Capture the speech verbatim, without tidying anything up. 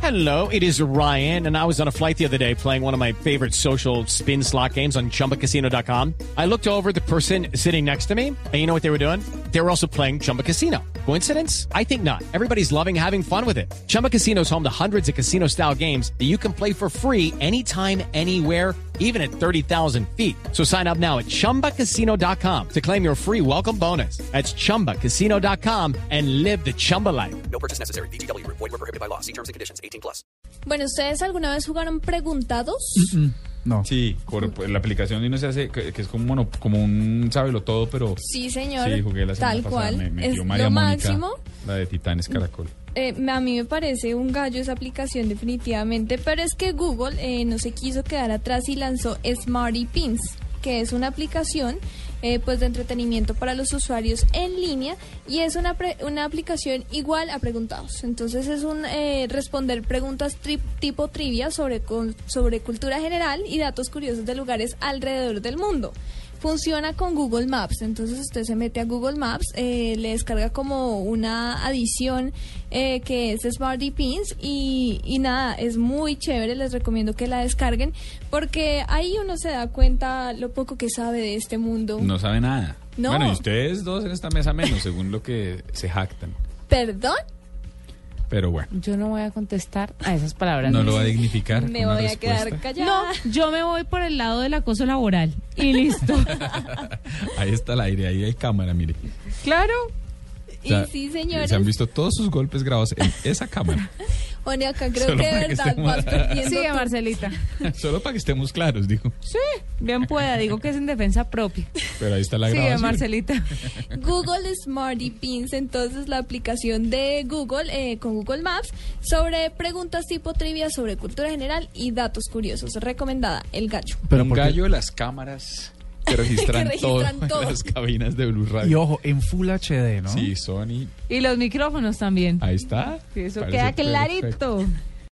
Hello, it is Ryan, and I was on a flight the other day playing one of my favorite social spin slot games on Chumba Casino dot com. I looked over at the person sitting next to me, and you know what they were doing? They were also playing Chumba Casino. Coincidence? I think not. Everybody's loving having fun with it. Chumba Casino is home to hundreds of casino-style games that you can play for free anytime, anywhere, even at thirty thousand feet. So sign up now at Chumba Casino dot com to claim your free welcome bonus. That's Chumba Casino dot com and live the Chumba life. No purchase necessary. V G W. Void where prohibited by law. See terms and conditions. eighteen plus. Bueno, ¿ustedes alguna vez jugaron Preguntados? Mm-mm. No. Sí, por, por la aplicación y uno se hace, que, que es como, mono, como un sábelo todo, pero... Sí, señor. Sí, jugué la semana tal pasada. cual. Me, me es dio María lo Mónica, máximo. La de Titanes Caracol. Eh, a mí me parece un gallo esa aplicación definitivamente, pero es que Google eh, no se quiso quedar atrás y lanzó Smarty Pins, que es una aplicación eh, pues de entretenimiento para los usuarios en línea y es una, pre- una aplicación igual a Preguntados. Entonces es un eh, responder preguntas tri- tipo trivia sobre, con, sobre cultura general y datos curiosos de lugares alrededor del mundo. Funciona con Google Maps, entonces usted se mete a Google Maps, eh, le descarga como una adición eh, que es Smarty Pins y, y nada, es muy chévere, les recomiendo que la descarguen porque ahí uno se da cuenta lo poco que sabe de este mundo. No sabe nada. No. Bueno, y ustedes dos en esta mesa menos, según lo que se jactan. ¿Perdón? Pero bueno. Yo no voy a contestar a esas palabras. No lo va a dignificar. Me con voy una a quedar respuesta. callada. No, yo me voy por el lado del acoso laboral. Y listo. Ahí está el aire, ahí hay cámara, mire. Claro. Y O sea, sí, señores. Se han visto todos sus golpes grabados en esa cámara. Oye, acá creo Solo que de para que verdad estemos- vas perdiendo. Sigue, tu- Marcelita. Solo para que estemos claros, digo. Sí, bien pueda. Digo que es en defensa propia. Pero ahí está la Sigue, grabación. Marcelita. Google Smarty Pins, entonces la aplicación de Google eh, con Google Maps sobre preguntas tipo trivia sobre cultura general y datos curiosos. Recomendada, El Gallo. Pero ¿por un qué? gallo de las cámaras que registran, Que registran todo, todo. en las cabinas de Blue Radio. Y ojo, en Full H D, ¿no? Sí, Sony. Y los micrófonos también. Ahí está. Sí, eso Parece queda perfecto. clarito.